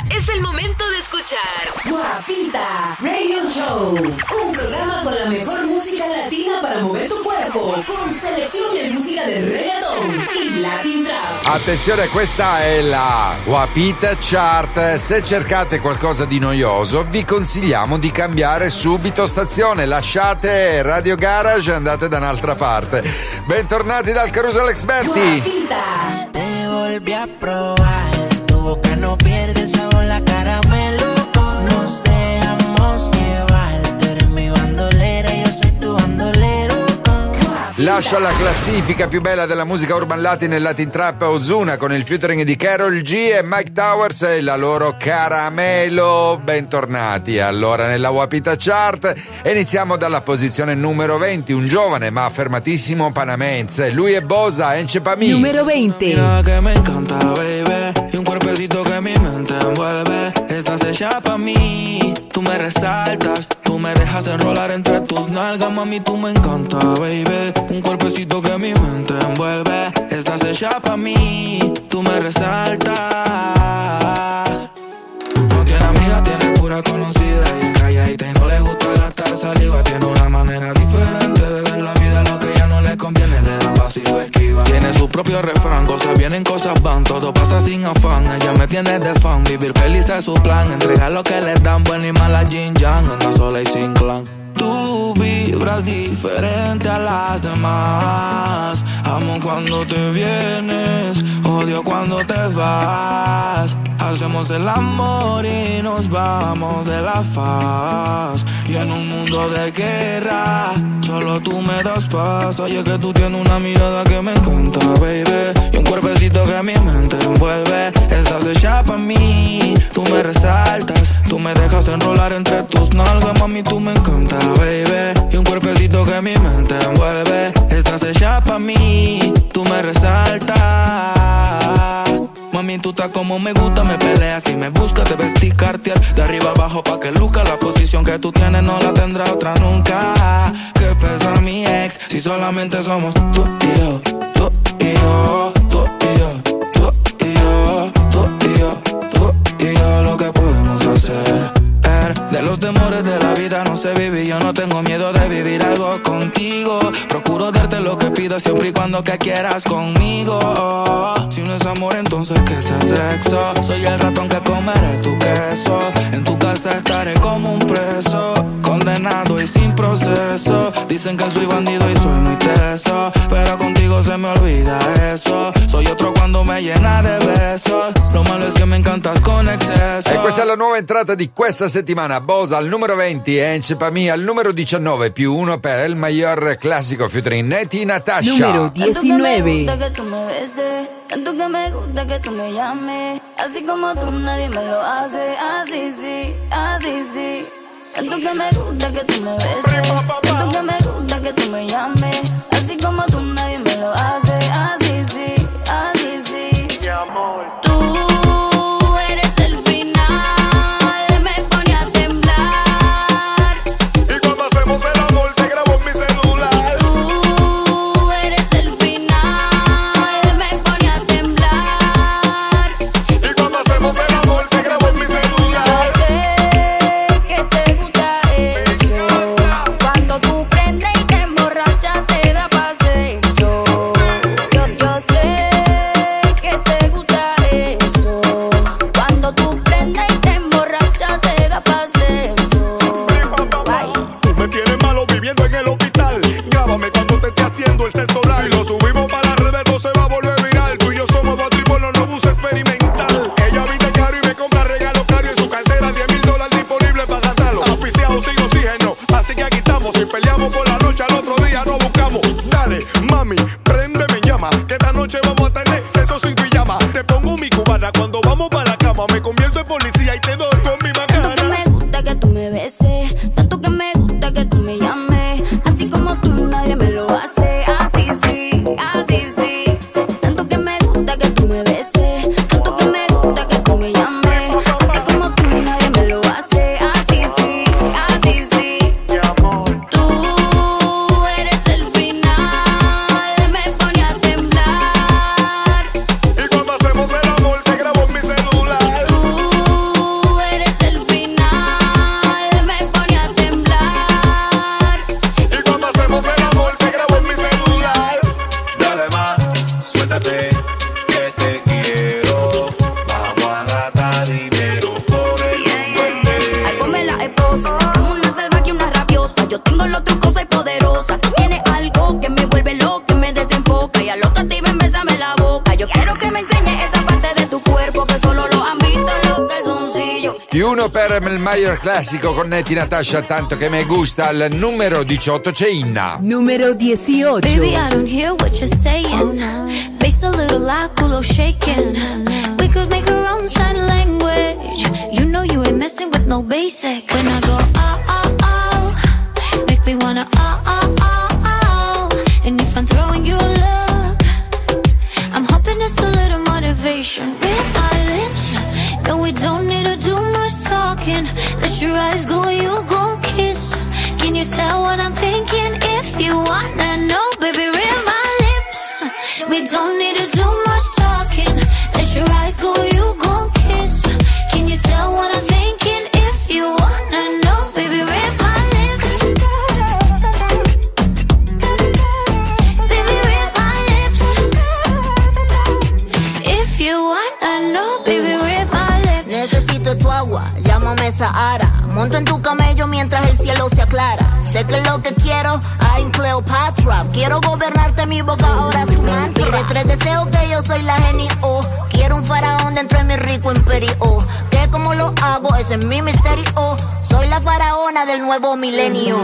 es el momento de escuchar Guapita Radio Show, un programa con la mejor música latina para mover tu cuerpo, con selección de música de reggaeton y Latin Trap. Attenzione, questa è la Guapita Chart. Se cercate qualcosa di noioso, vi consigliamo di cambiare subito stazione. Lasciate Radio Garage e andate da un'altra parte. Bentornati dal Carousel Experti. Guapita. Te volví a probar, tu boca no pierde sabor, la caramelo. Nos dejamos llevar, tú eres mi bandolera, yo soy tu bandolero. Lascia la classifica più bella della musica urban latin e Latin Trap Ozuna con il featuring di Karol G e Mike Towers e la loro Caramelo. Bentornati allora nella Guapita Chart. Iniziamo dalla posizione numero 20, un giovane ma affermatissimo panamense. Lui è Bosa, Enchepami. Numero 20. Mira que me encanta, baby, y un cuerpecito que mi mente envuelve. Estás hecha pa' mí, tú me resaltas, tú me dejas enrolar entre tus nalgas, mami, tú me encanta, baby. Un cuerpecito que mi mente envuelve. Estás hecha pa' mí, tú me resaltas. No tiene amiga, tiene pura conocida y es calladita y no le gusta gastar saliva. Tiene una manera diferente de ver la vida, lo que ella no le conviene le da paso y lo esquiva. Tiene su propio refrán, cosas vienen, cosas van, todo pasa sin afán. Ella me tiene de fan, vivir feliz es su plan. Entregar lo que le dan, buena y mala Jin Yang, anda sola y sin clan. Tú vibras diferente a las demás. Amo cuando te vienes, odio cuando te vas. Hacemos el amor y nos vamos de la faz. Y en un mundo de guerra, solo tú me das paz. Oye que tú tienes una mirada que me encanta, baby, y un cuerpecito que mi mente envuelve. Estás hecha pa' mí, tú me resaltas, tú me dejas enrolar entre tus nalgas, mami, tú me encanta, baby, y un cuerpecito que mi mente envuelve. Estás hecha pa' mí, tú me resaltas. Mami, tú estás como me gusta, me peleas y me buscas, te vestí Cartier de arriba abajo pa' que luzca. La posición que tú tienes no la tendrá otra nunca. Que pesa mi ex, si solamente somos tú y yo, tú y yo, tú y yo, tú y yo, tú y yo, tú y yo, lo que podemos hacer. De los temores de la vida no sé vivir, yo no tengo miedo de vivir algo contigo. Procuro darte lo que pidas siempre y cuando que quieras conmigo. Si no es amor, entonces que sea sexo. Soy el ratón que comeré tu queso. En tu casa estaré como un preso, condenado y sin proceso. Dicen que soy bandido y soy muy teso, pero contigo se me olvida eso. Soy otro cuando me llena de besos. Lo malo es que me encantas con exceso. E questa è la nuova entrata di questa settimana. Bosa al numero 20 e Enchepami al numero 19, più uno per il mayor classico featuring Neti Natasha. Numero 19. Tanto que tú me beses, tanto que me gusta que tú me llames. Así como tú nadie me lo hace, así sí, así sí. Tanto que me gusta que tú me beses, tanto que me gusta que tú me llames. Así como tú nadie me lo hace, así sí, así sí. Mi amor. Tú eres el final, me pone a temblar. Y cuando hacemos el amor te grabo en mi celular. Tú eres el final, me pone a temblar. Y cuando hacemos el amor te grabo en mi celular. Sé que te gusta eso, cuando tú prendes y te emborrachas te da pa' sexo. Yo sé que te gusta eso, cuando tú prendes y te emborrachas te da pa' sexo. Bye. Tú me tienes malo viviendo en el hospital. Grábame cuando te esté haciendo el sexo oral. Si lo subimos para las redes no se va a volver viral. Tú y yo somos dos tripolos, no bus experimental. Ella viste caro y me compra regalos caros. Y en su cartera $10,000 disponible para gastarlo. Oficiado sin oxígeno, así que aquí estamos. Si peleamos por la noche al otro día nos buscamos. Dale, mami, préndeme en llama, que esta noche vamos a tener sexo sin pijama. Te pongo mi cubana cuando vamos para la cama. Me convierto en policía y te doy con mi Tanto que macana. me gusta que tú me beses, tanto que me gusta que tú me llames. Así como tú nadie me lo hace, así sí, así sí. Tanto que me gusta que tú me beses, tanto que me gusta que tú me llames. Así como tú nadie me lo hace, así sí, así sí. Tú eres el final, me pone a temblar. Y cuando hacemos el amor te grabo en mi celular. Tú Più uno per il Mayer classico con Netti Natasha, tanto che me gusta. Al numero 18 c'è Inna. Numero 18. Baby, I don't hear what you're saying. Face a little like culo shaking. We could make our own sign language. You know you ain't messing with no basic. When I go make me wanna and if I'm throwing you a look, I'm hoping it's a little motivation. Read my lips, no we don't need to do much talking. Let your eyes go, you gon' kiss. Can you tell what I'm thinking? If you wanna know, baby, read my lips. We don't need to do much talking. Let your eyes go, you gon' kiss. Can you tell what I'm thinking? If you wanna know, baby, read my lips. Baby, read my lips. If you wanna know, baby, read my lips. Necesito tu agua, llámame Sahara. Monto en tu camello mientras el cielo se aclara. Sé que es lo que quiero, I'm Cleopatra. Quiero gobernarte, mi boca ahora es tu mantra. Tienes 3 deseos que yo soy la genio. Quiero un faraón dentro de mi rico imperio. Que como lo hago, ese es mi misterio. Soy la faraona del nuevo milenio.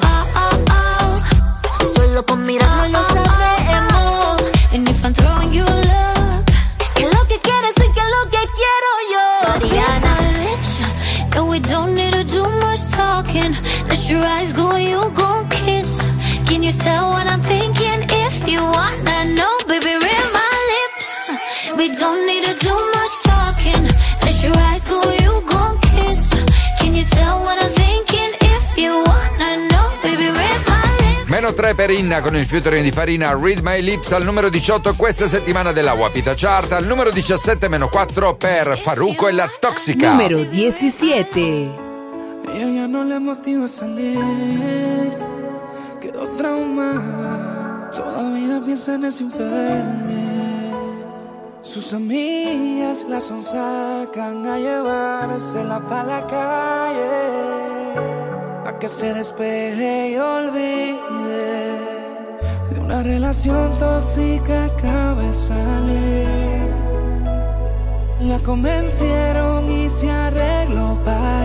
Solo con mirarnos lo sabemos. And if I'm throwing you a look, que lo que quieres y que lo que quiero yo. Ariana. No, we don't need to do much talking. Let your eyes go, you gon' kiss. Can you tell what I'm thinking? If you wanna know, baby, read my lips. We don't need to do much talking. Let your eyes go, you gon' kiss. Can you tell what I'm thinking? If you wanna know, baby, read my lips. Meno 3 per Inna con il featuring di Farina, Read My Lips al numero 18 questa settimana della Wapita Chart. Al numero 17 meno 4 per Farruko e la Toxica. Numero 17. Ella ya no le motiva salir, quedó traumada, todavía piensa en ese infierno. Sus amigas la sonsacan a llevársela pa' la calle, a que se despeje y olvide de una relación tóxica acaba de salir. La convencieron y se arregló pa'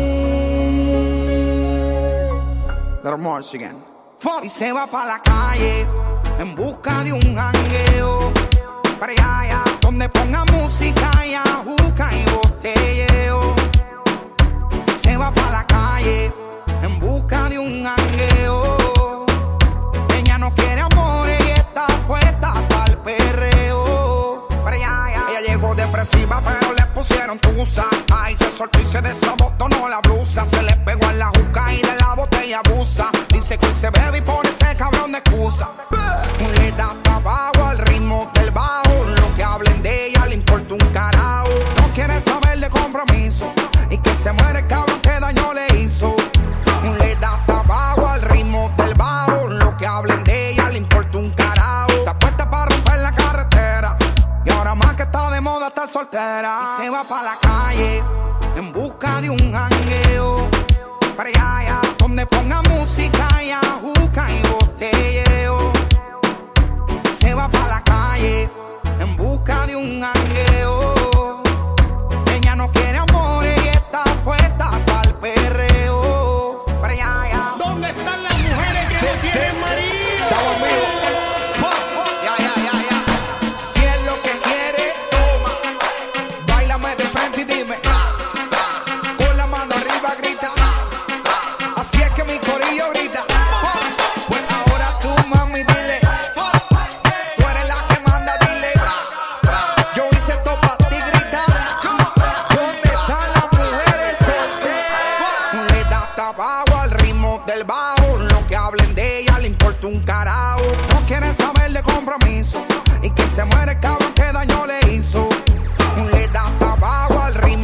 ir. Little more again. Y se va pa' la calle en busca de un jangueo. Para allá, donde ponga música y ajuca y botelleo. Y se va pa' la calle en busca de un jangueo. Ella no quiere amor y está puesta pa'l perreo. Para allá, ella llegó depresiva pero le pusieron tusa. Ay, se soltó y se desabotonó la blusa. Se le pegó a la juca y de la botella abusa. Dice que hoy se bebe y pone ese cabrón de excusa. Le da tabaco al ritmo del bajo. Lo que hablen de ella le importa un carajo. No quiere saber de compromiso y que se muere el cabrón que daño le hizo. Le da tabaco al ritmo del bajo. Lo que hablen de ella le importa un carajo. Está puesta para romper la carretera y ahora más que está de moda estar soltera. Y se va pa' la calle en busca de un jangueo. Para allá, donde ponga música y ajuca y botelleo. Se va pa' la calle en busca de un jangueo. Ella no quiere amor y está puesta pa'l perreo. Para allá, ¿dónde están las mujeres que no tienen marido? Estamos amigos. Ya. Si es lo que quiere, toma. Báilame de frente y dime. Con la mano arriba grita. Así es que mi corillo grita. Pues ahora tú, mami, dile. Tú eres la que manda, dile. Yo hice esto pa' ti, grita. ¿Dónde están las mujeres solteras? Le da tabaco al ritmo del bajo. Lo que hablen de ella le importa un carajo. No quieren saber de compromiso y que se muere el cabrón que daño le hizo. Le da tabaco al ritmo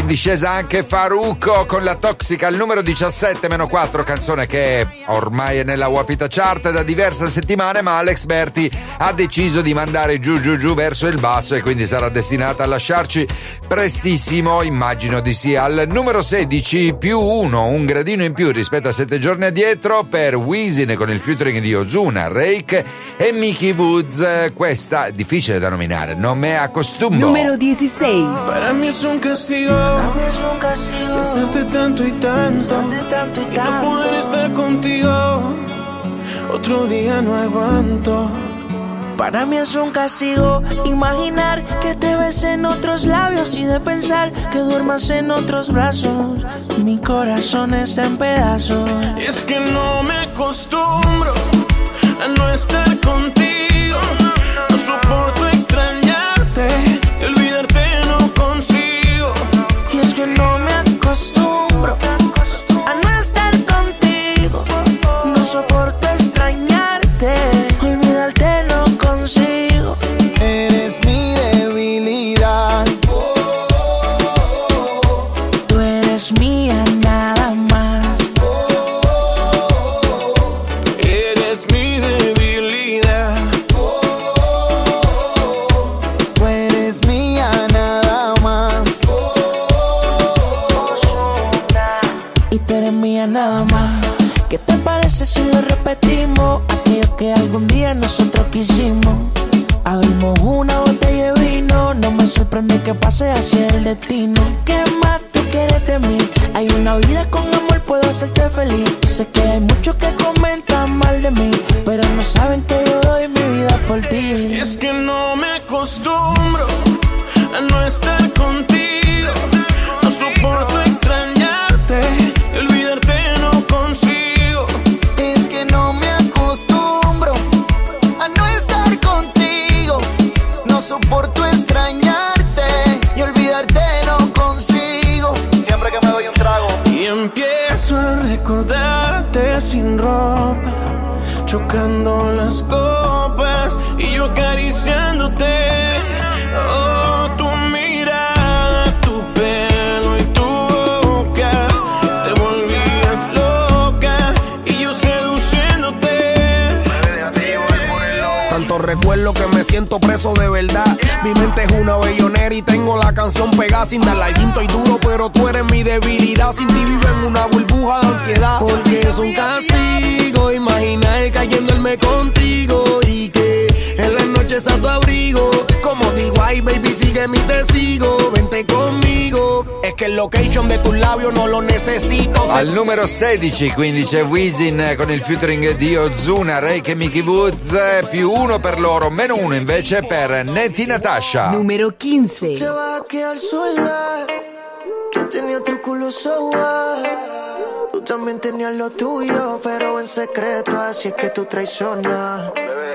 discesa anche Farruko con La Toxica al numero 17-4, canzone che ormai è nella Wapita Chart da diverse settimane, ma Alex Berti ha deciso di mandare giù verso il basso e quindi sarà destinata a lasciarci prestissimo, immagino di sì. Al numero 16 +1, un gradino in più rispetto a 7 giorni addietro per Wisin con il featuring di Ozuna, Rake e Mickey Woods. Questa è difficile da nominare, non me acostumo. Número 16. Para mí es un castigo, pensarte tanto y tanto, y no poder estar contigo, otro día no aguanto. Para mí es un castigo imaginar que te ves en otros labios y de pensar que duermas en otros brazos. Mi corazón está en pedazos. Es que no me acostumbro a no estar contigo, no soporto extrañarte y olvidarte no consigo. Y es que no me acostumbro a no estar contigo, no soporto extrañarte, olvidarte no consigo. Eres mi debilidad. Tú eres mía nada más. Eres mi debilidad. Tú eres mía nada más. Y tú eres mía nada más. ¿Qué te parece si lo repetimos? Aquello que algún día nosotros quisimos. Abrimos una botella de vino. No me sorprende que pase así el destino. ¿Qué más tú quieres de mí? Hay una vida con amor, puedo hacerte feliz. Sé que hay muchos que comentan mal de mí, pero no saben que yo doy mi vida por ti. Es que no me acostumbro a no estar contigo, no soporto extrañarte y olvidarte no consigo. Es que no me acostumbro a no estar contigo, no soporto extrañarte y olvidarte no consigo. Siempre que me doy un trago Y empiezo a recordarte sin ropa, chocando las copas y yo acariciándote. Oh, tu mirada, tu pelo y tu boca, te volvías loca y yo seduciéndote. Tanto recuerdo que me siento preso de verdad. Mi mente es una bellonera y tengo la canción pegada. Sin darle al quinto y duro, pero tú eres mi debilidad. Sin ti vivo en una burbuja de ansiedad. Porque es un castigo imaginar cayéndome contigo y que en las noches a tu abrigo. Como digo, ay baby, sigue mi testigo, vente conmigo. Es que el location de tus labios no lo necesito. Al numero 16 quindi c'è Wisin con il featuring di Ozuna, Rake e Mickey Woods, +1 per loro, -1 invece per Neti Natasha. Número 15. Te vas a quedar sola, que tenía otro culo soa. Tú también tenías lo tuyo, pero en secreto, así es que tú traicionas.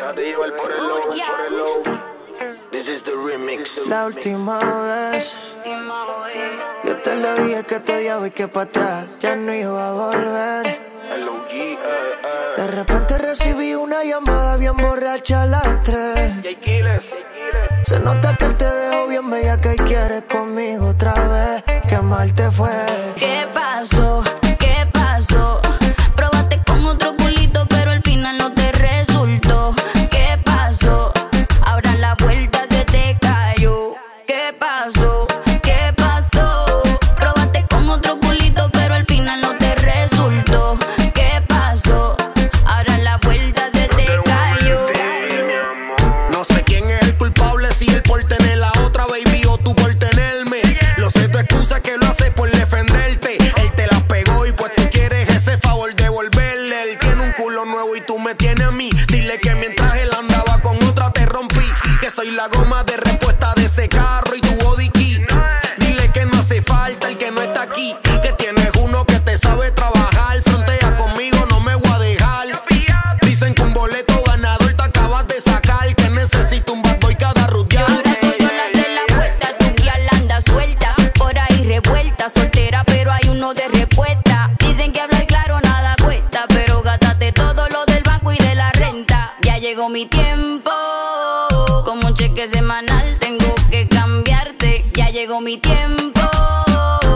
This is the remix. La última vez yo te lo dije que te odiaba y que para atrás ya no iba a volver. De repente recibí una llamada bien borracha a las 3. Se nota que él te dejó bien bella que quieres conmigo otra vez. Qué mal te fue. ¿Qué pasó? ¿Qué pasó? Probaste con otro culito, pero al final no te resultó. ¿Qué pasó? Ahora la vuelta se te cayó. ¿Qué pasó? ¿Qué pasó? Probaste con otro culito, pero al final no te resultó. ¿Qué pasó? Ahora la vuelta se te cayó. No sé quién es el culpable, si él por tener la otra, baby, o tú por tenerme. Lo sé, tu excusa que lo hace por defenderte. Él te la pegó y pues tú quieres ese favor devolverle. Él tiene un culo nuevo y tú me tienes a mí. Dile que mientras él andaba con otra te rompí. Que soy la goma de respuesta de ese carro y tu body key. Dile que no hace falta el que no está aquí. Que tienes uno que te sabe trabajar. Frontea conmigo, no me voy a dejar. Dicen que un boleto ganador te acabas de sacar. Que necesito un bad boy cada rutear. Ahora todas las de la vuelta, tu guía la anda suelta. Por ahí revuelta, soltera, pero hay uno de respuesta. Dicen que hablar claro nada cuesta, pero gástate todo lo del banco y de la renta. Ya llegó mi tiempo, como un cheque semanal tengo que cambiarte. Ya llegó mi tiempo,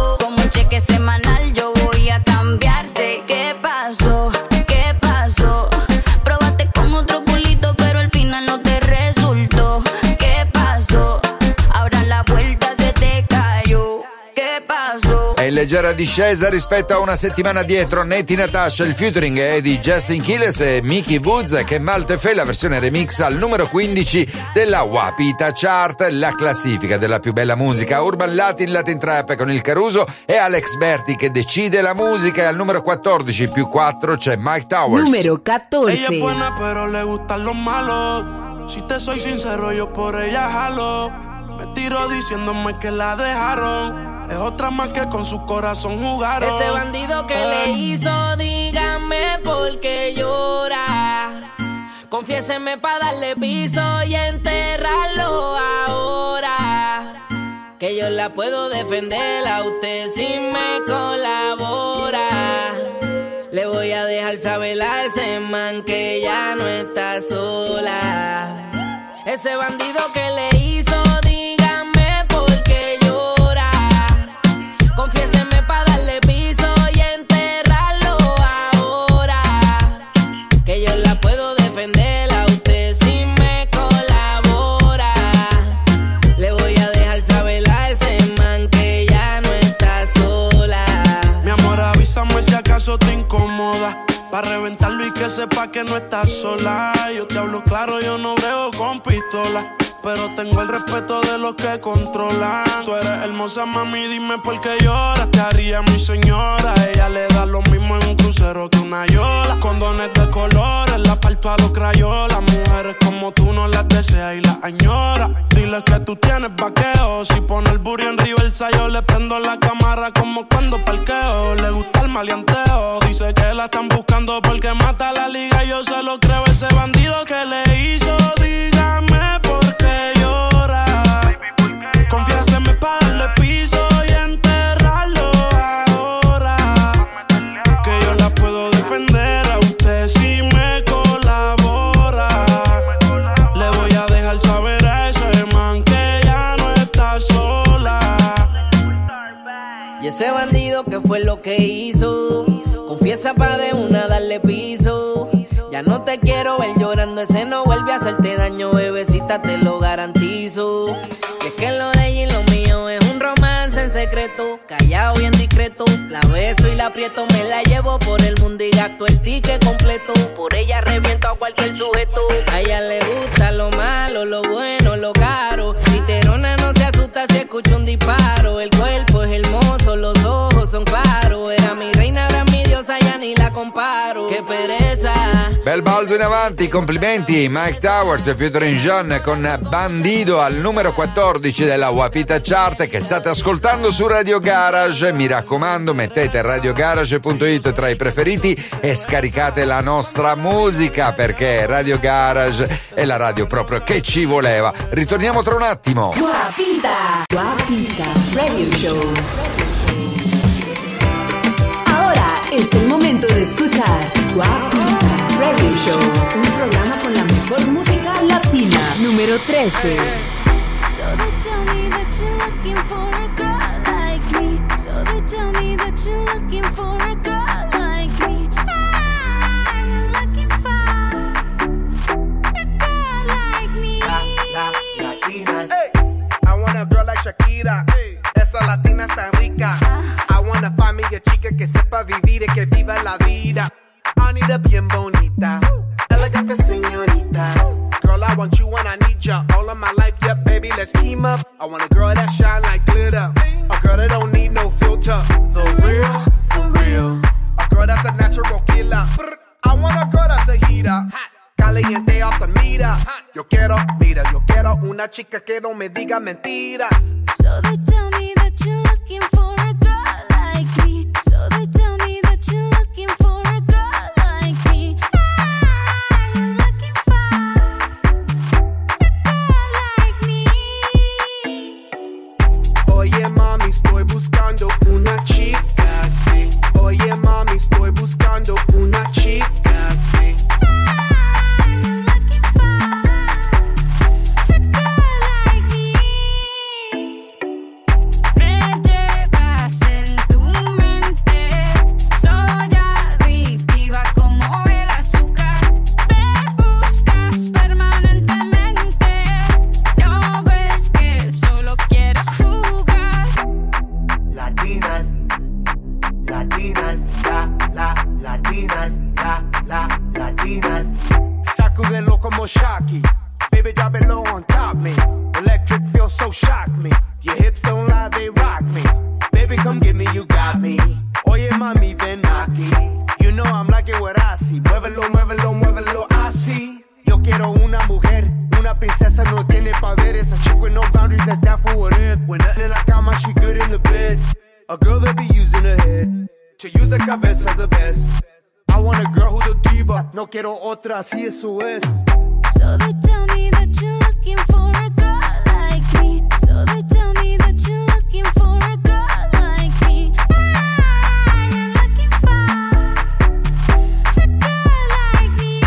leggera discesa rispetto a una settimana dietro. Natti Natasha, il featuring è di Justin Quiles e Mickey Woods, che Maltefe la versione remix al numero 15 della Wapita Chart, la classifica della più bella musica urban latin, latin trap, con il Caruso e Alex Berti che decide la musica, e al numero 14 più 4 c'è Mike Towers. Numero 14. Ella es buena pero le gustan los malos. Si te soy sincero yo por ella jalo. Me tiro diciéndome que la dejaron. Es otra más que con su corazón jugaron. Ese bandido que le hizo, dígame por qué llora. Confiéseme pa' darle piso y enterrarlo ahora. Que yo la puedo defender a usted si me colabora. Le voy a dejar saber a ese man que ya no está sola. Ese bandido que le hizo, dígame por qué llora. Confiéseme pa' darle piso y enterrarlo ahora. Que yo la puedo defender a usted si me colabora. Le voy a dejar saber a ese man que ya no está sola. Mi amor, avísame si acaso te incomoda, pa' reventarlo y que sepa que no estás sola. Yo te hablo claro, yo no brego con pistola, pero tengo el respeto de los que controlan. Tú eres hermosa, mami, dime por qué lloras. Te haría mi señora. Ella le da lo mismo en un crucero que una yola. Condones de colores, la parto a los crayolas. Mujeres como tú no las deseas y las añoras. Dile que tú tienes vaqueo. Si pone el burro en Riversa, yo le prendo la cámara como cuando parqueo. Le gusta el maleanteo. Dice que la están buscando porque mata la liga. Yo se lo creo, ese bandido que le hizo. Dígame por qué llora. Confiéseme pa' darle piso y enterrarlo ahora. Que yo la puedo defender a usted si me colabora. Le voy a dejar saber a ese man que ya no está sola. Y ese bandido que fue lo que hizo, confiesa pa' de una darle piso. Ya no te quiero ver llorando, ese no vuelve a hacerte daño, bebecita, te lo garantizo. Y es que lo de ella y lo mío es un romance en secreto, callado bien discreto. La beso y la aprieto, me la llevo por el mundo y gasto el ticket completo. Por ella reviento a cualquier sujeto. A ella le gusta lo malo, lo bueno, lo caro. Literona no se asusta si escucha un disparo. El cuerpo es hermoso, los ojos son claros. Era mi reina, ahora mi diosa, ya ni la comparo. Qué pereza. Bel balzo in avanti, complimenti Mike Towers featuring John con Bandido al numero 14 della Wapita Chart, che state ascoltando su Radio Garage. Mi raccomando, mettete radiogarage.it tra i preferiti e scaricate la nostra musica, perché Radio Garage è la radio proprio che ci voleva. Ritorniamo tra un attimo. Wapita Radio Show. Ahora es el momento de escuchar Wapita Radio Show, un programa con la mejor música latina. Número 13. So they tell me that you're looking for a girl like me. So they tell me that you're looking for a girl like me. Ah, you're looking for a girl like me. Latinas. Hey, I want a girl like Shakira. Hey, esa latina está rica. I wanna find me a chica que sepa vivir y que viva la vida. Anita bien bonita, elegante señorita. Girl, I want you when I need ya. All of my life, yeah, baby, let's team up. I want a girl that shine like glitter, a girl that don't need no filter. The real, for real. A girl that's a natural killer. I want a girl that's a heater, caliente off the meter. Yo quiero una chica que no me diga mentiras. So they tell me that you're looking for a girl like me. So they tell me that you're looking for a girl like me. Ah, you're looking for a girl like me. Oye mami, estoy buscando una chica, sí. Oye mami, estoy buscando una chica, sí. Latinas. Sacudelo como Shocky. Baby, drop it low on top me. Electric feels so shock me. Your hips don't lie, they rock me. Baby, come get me, you got me. Oye, mami, ven aquí. You know I'm like it what I see. Muévelo, muévelo, muévelo, así. Yo quiero una mujer, una princesa, no tiene poderes. A chick with no boundaries, that's that for what it is. When nothing in la cama, she good in the bed. A girl that be using her head to use the cabeza the best. I want a girl who's a diva. No quiero otra, así eso es. So they tell me that you're looking for a girl like me. So they tell me that you're looking for a girl like me. I'm looking for a girl like me.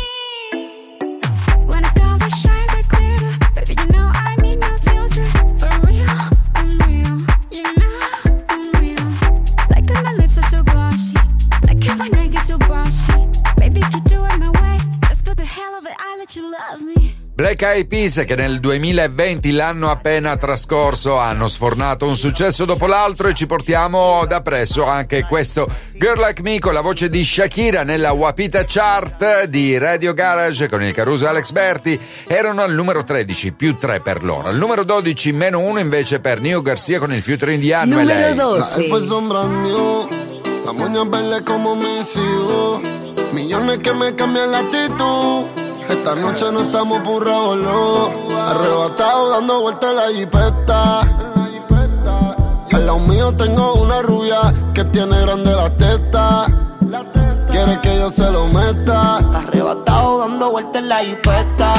When a girl that shines like glitter, baby, you know I need no filter. For real, I'm real. You know I'm real. Like that my lips are so glossy. Like how my neck is so bossy. Baby, if you do it my way, just for the hell of it, I'll let you love me. Black Eyed Peas, che nel 2020, l'anno appena trascorso, hanno sfornato un successo dopo l'altro, e ci portiamo da presso anche questo Girl Like Me con la voce di Shakira nella Wapita Chart di Radio Garage con il Caruso e Alex Berti. Erano al numero 13, più 3 per loro. Al numero 12, meno 1 invece per Nio Garcia con il featuring di Anno e lei. La F fue sombrando, la moña verde como mis hijos, millones que me cambian la actitud. Esta noche no estamos por revolú, arrebatado dando vueltas en la jipeta. Al lado mío tengo una rubia que tiene grande la teta. Quiere que yo se lo meta. Arrebatado dando vueltas en la jipeta.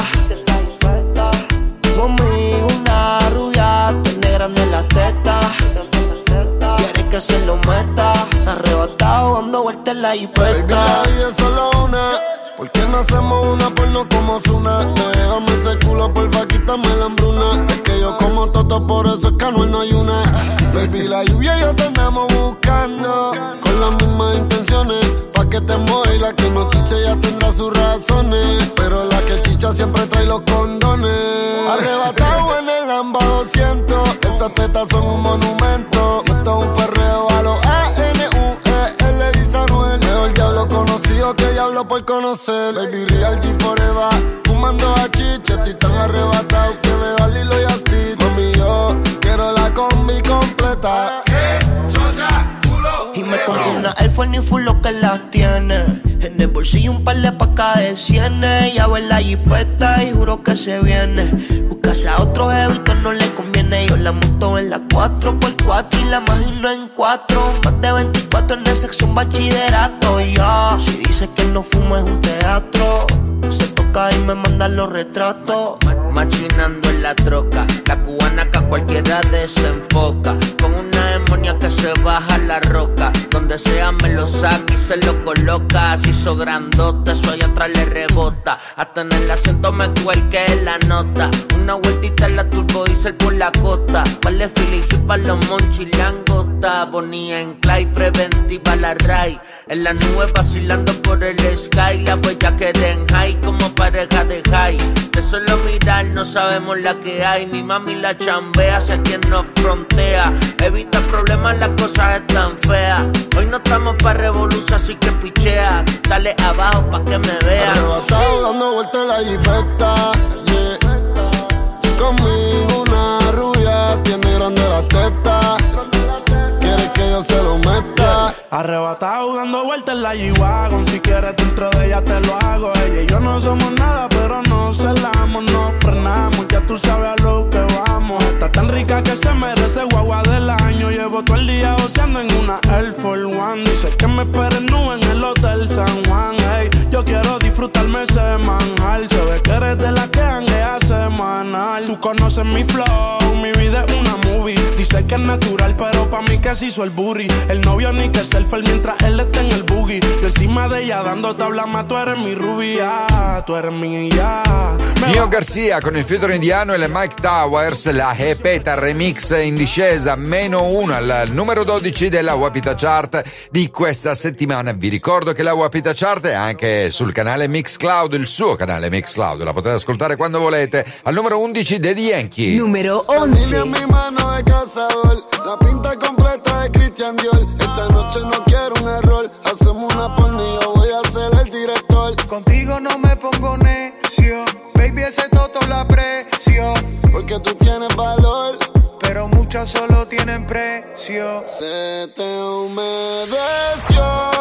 Conmigo una rubia tiene grande la teta. Quiere que se lo meta. Arrebatado dando vueltas en la jipeta. Baby, la vida es solo una. ¿Por qué no hacemos una porno como Zuna? Déjame ese culo, porfa, quítame la hambruna. Es que yo como toto, por eso es que Anuel no hay una. Baby, la lluvia y yo te andamos buscando con las mismas intenciones. Pa' que te mueva y la que no chiche ya tendrá sus razones. Pero la que chicha siempre trae los condones. Arrebatado en el Lamba 200. Esas tetas son un monumento. Esto es un perreo a los A-N-U-E-L, dice Anuel. Mejor diablo conocido que diablo por conocer. Baby, Real G Forever, fumando a chicha. Estoy tan arrebatado que me da Lilo y Asti. Mami, yo quiero la combi completa. Y me compré una Air Force ni full lo que las tiene. En el bolsillo un par de pacas de cienes. Ya ve la jipeta y juro que se viene. Buscarse a otros evitos no le conviene. Yo la monto en la 4x4 y la imagino en 4. Más de 24 en el sexo, un bachillerato. Ya, si dice que no fumo es un teatro. Se toca y me mandan los retratos. Machinando en la troca, la cubana que a cualquiera desenfoca. Con una demonia que se baja la roca. Donde sea me lo saca y se lo coloca. Se hizo grandote, eso allá atrás le rebota. Hasta en el acento me cuelque la nota. Una vueltita en la turbo diesel por la costa. Vale Philly para los monchilangota. Bonía en Clay, preventiva la Ray. En la nube vacilando por el sky. La huella que en high como pareja de high. De solo mirar no sabemos la que hay. Mi mami la chambea hacia quien nos frontea. Evita problemas, las cosas están feas. Hoy no estamos pa' revolución, así que pichea. Dale abajo pa' que me vea. Arrebatado dando vueltas en la jipeta, yeah. Conmigo una rubia tiene grande la teta. Quiere que yo se lo meta. Arrebatado dando vueltas en la G-Wagon. Si quieres dentro de ella te lo hago. Ella y yo no somos nada, pero no celamos, no frenamos. Ya tú sabes a lo que vamos. Está tan rica que se merece guagua del año. Llevo todo el día oceando en una Air Force One. Dice que me esperen nube en el Hotel San Juan. Hey, yo quiero disfrutarme semanal. Se ve que eres de la que janguea semanal. Tú conoces mi flow, mi vida es una movie. Dice que es natural, pero pa' mí que se hizo el booty. El novio ni que selfie mientras él está en el boogie. Yo encima de ella dando tabla más, tú eres mi rubia, tú eres mi ya. Nio Garcia con il featuring di Anno e Mike Towers, la Hepeta remix in discesa, meno 1 al numero 12 della Wapita Chart di questa settimana. Vi ricordo che la Wapita Chart è anche sul canale Mixcloud, il suo canale Mixcloud, la potete ascoltare quando volete. Al numero 11 Daddy Yankee. Numero 11. En mi mano de cazador, la pinta completa de Christian Dior. Esta noche no quiero un error, hacemos una porno y yo voy a ser el director. caricias solo tienen precio. Se te humedeció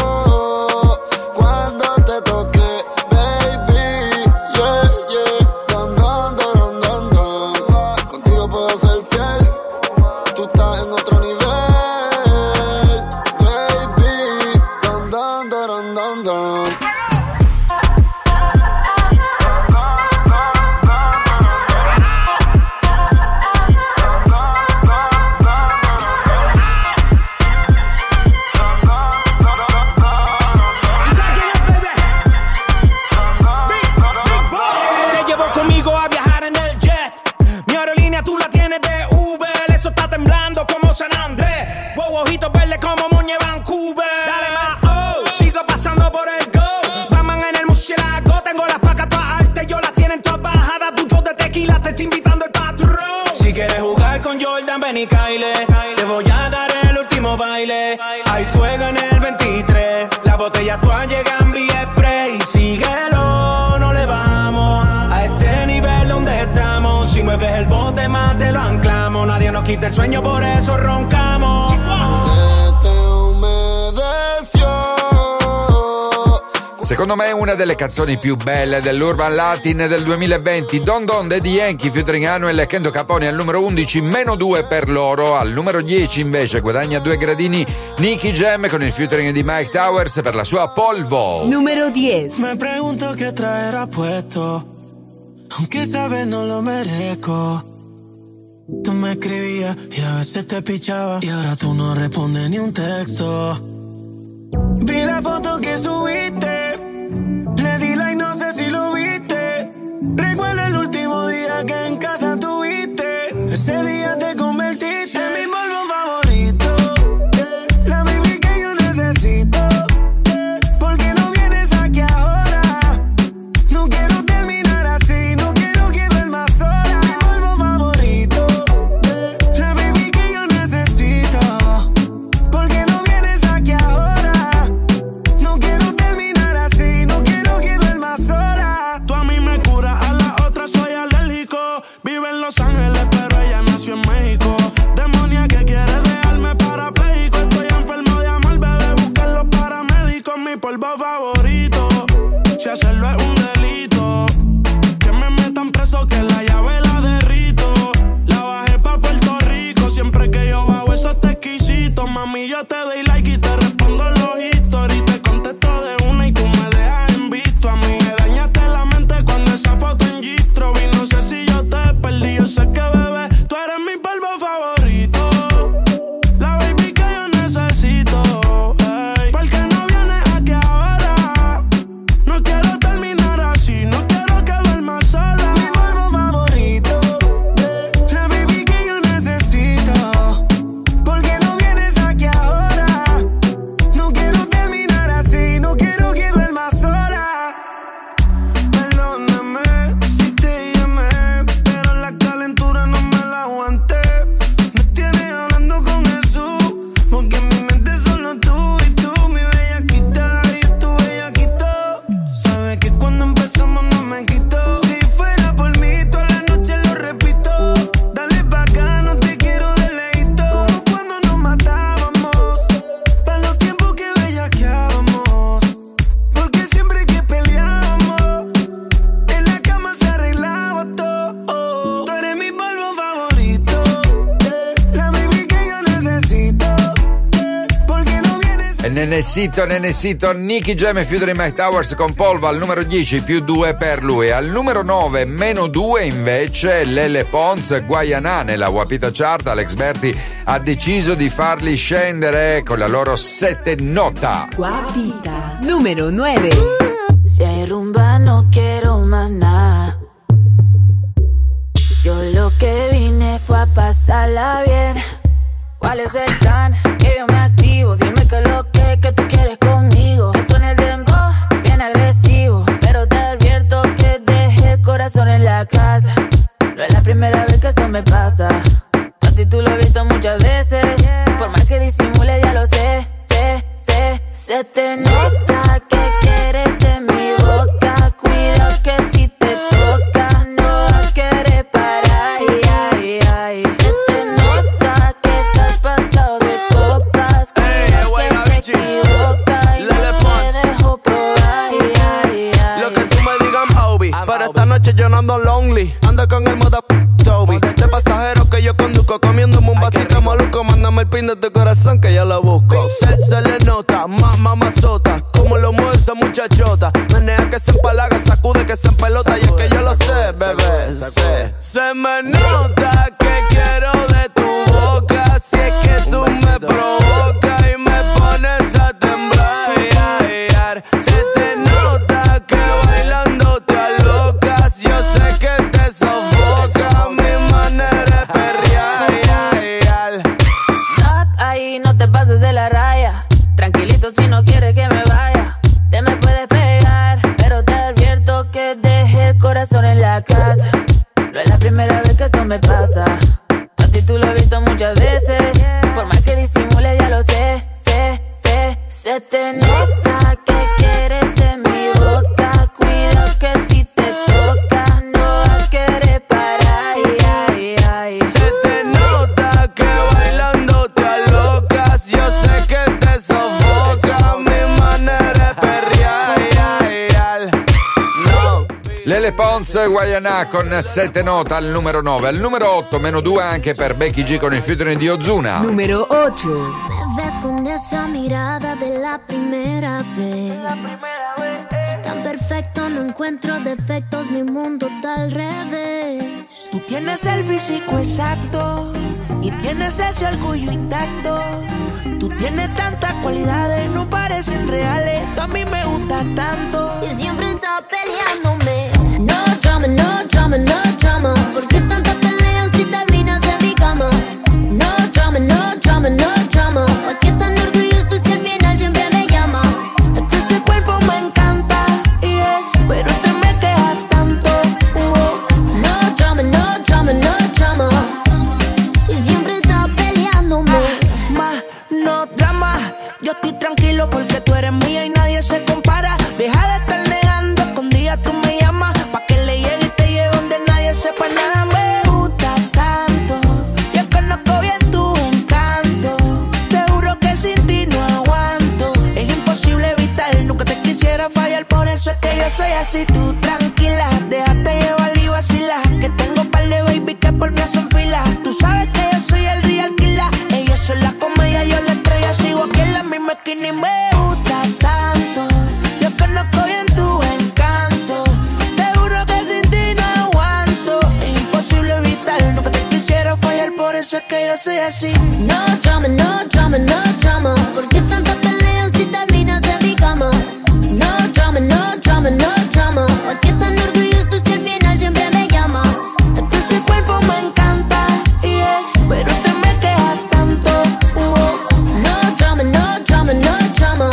cuando te toqué, baby. Yeah, yeah. Don, don, don, don, don. Contigo puedo ser fiel. Tú estás en otro nivel, baby. Don, don, don, don, don. Ven y caile, te voy a dar el último baile. Hay fuego en el 23, las botellas todas llegan vía spray. Síguelo, no le vamos a este nivel donde estamos. Si mueves el bote más te lo anclamos. Nadie nos quita el sueño, por eso roncamos. Se te humedeció. Secondo me è una delle canzoni più belle dell'Urban Latin del 2020. Don Don Daddy Yankee featuring Anuel e Kendo Capone al numero 11, -2 per loro. Al numero 10 invece guadagna 2 gradini Nicky Jam con il featuring di Mike Towers per la sua Polvo. Numero 10. Me pregunto qué traerá puesto, aunque sabes no lo merezco. Tú me escribías y a veces te pichaba, y ahora tú no respondes ni un texto. Vi la foto que subiste, le di like, no sé si lo viste. Recuerdo el último día que en casa tuviste. Ese día te convertiste en mi polvo favorito, la baby que yo necesito. ¿Por qué no vienes aquí ahora? No quiero terminar así, no quiero que duermas sola. Mi polvo favorito, la baby que yo necesito. ¿Por qué no vienes aquí ahora? No quiero terminar así, no quiero que duermas sola. Tú a mí me curas, a la otra soy alérgico. Vive en Los Ángeles, pero ella nació en México. Demonia que quiere dejarme parapléjico. Estoy enfermo de amor, bebé, busquen los paramédicos. Mi polvo favorito, si hacerlo es un delito. Que me metan preso, que la llave la derrito. La bajé pa' Puerto Rico, siempre que yo bajo esos te exquisitos. Mami, yo te doy like y te respondo los historias. Te contesto de una y tú me dejas en visto. A mí me dañaste la mente cuando esa foto en Gistro vi. No sé si yo te perdí, yo sé que bebé, tú eres mi polvo favorito, la baby que yo necesito. Ey. ¿Por qué no vienes aquí ahora? No quiero terminar así, no quiero que duermas sola. Mi polvo favorito, la baby que yo necesito. ¿Por qué no vienes aquí ahora? No quiero terminar así, no quiero que duermas sola. Perdóname si te llamé, pero la calentura no me la aguanté. Me tienes hablando con Jesús, porque en mi mente solo tú y tú, mi bellaquita y tu bellaquito. Sabes que cuando empezamos no me quitó. Si fuera por mí toda la noche lo repito. Dale pa' acá, no te quiero de leíto. Como cuando nos matábamos, pa' los tiempos que bellaqueábamos. Porque siempre que peleábamos, en la cama se arreglaba todo. Tú eres mi polvo favorito, la baby que yo necesito. ¿Por qué no vienes? Nenecito, Nicky Jam e featuring Mike Towers con Polvo al numero 10, +2 per lui. Al numero 9, -2 invece Lele Pons, Guaianà. Nella Wapita Chart Alex Berti ha deciso di farli scendere con la loro 7 nota. Guapita. Numero 9. Si hay rumba no quiero más nada. Yo lo que vine fue a pasarla bien. ¿Cuál es el plan? Que yo me activo. Dime que lo que tú quieres conmigo. Que suene el dembow, bien agresivo. Pero te advierto que dejé el corazón en la casa. No es la primera vez que esto me pasa. A ti tú lo has visto muchas veces. Por más que disimule ya lo sé. Se te nota que quieres de mi boca. Cuidado que si te toca no vas a querer parar. Se te nota Pero esta noche yo no ando lonely, ando con el moda Toby. De pasajero que yo conduzco, comiéndome un vasito maluco. Mándame el pin de tu corazón que yo lo busco. Se le nota, mamazota, como lo mueve esa muchachota. Menea que se empalaga, sacude que se empelota. Y es que yo lo sé, bebé, se me nota que quiero de tu boca. Si es que tú me provocas y me pones a temblar. Se te nota que bailando te alocas. Yo sé que te sofoca mi manera de perrear. Stop ahí, no te pases de la raya. Tranquilito si no quieres que me vaya. Te me puedes pegar, pero te advierto que dejé el corazón en la casa. No es la primera vez que esto me pasa. A ti tú lo has visto muchas veces. Por más que disimule ya lo sé. Se te nota que quieres de mi boca. Cuidado que si te toca no vas a querer parar. Se te nota que bailando te alocas. Yo sé que te sofoca mi manera de perrear. No. Lele Pons, Guayana con 7 note al numero 9. Al numero 8, meno 2 anche per Becky G con il featuring di Ozuna. Numero 8. Me ves con esa mirada de la primera vez. Tan perfecto, no encuentro defectos, mi mundo está al revés. Tú tienes el físico exacto y tienes ese orgullo intacto. Tú tienes tantas cualidades, no parecen reales. Tú a mí me gustas tanto Y siempre estás peleándome. No drama, no drama, no drama. ¿Por qué tantas peleas si terminas en mi cama? No drama, no drama, no drama. ¿Por qué tan orgulloso si al final siempre me llama? Es que ese cuerpo me encanta, pero te me quejas tanto. No drama, no drama, no drama. Y siempre estás peleándome. No drama, yo estoy tranquilo porque tú eres mía y nadie se compara. Deja de estar negando, escondida tú me llamas. Pa' que le llegue y te lleve donde nadie sepa nada. Me gusta tanto, yo conozco bien tu encanto. Te juro que sin ti no aguanto. Es imposible evitar, nunca te quisiera fallar. Por eso es que yo soy así, tú tranquila. Déjate llevar y vacila, que tengo par de baby que por mí hacen fila. Tú sabes que yo soy el real killer. Ellos son la comedia, yo la estrella. Sigo aquí en la misma esquina y me gusta tanto. Yo conozco bien tu encanto. Te juro que sin ti no aguanto. Es imposible evitar, nunca te quisiera fallar. Por eso es que yo soy así. No drama, no drama, no drama. ¿Por qué tantas peleas si terminas en mi cama? No drama, no drama, no drama. ¿Por qué tan orgulloso si al final siempre me llama? Es que ese cuerpo me encanta, pero te me quejas tanto. No drama, no drama, no drama.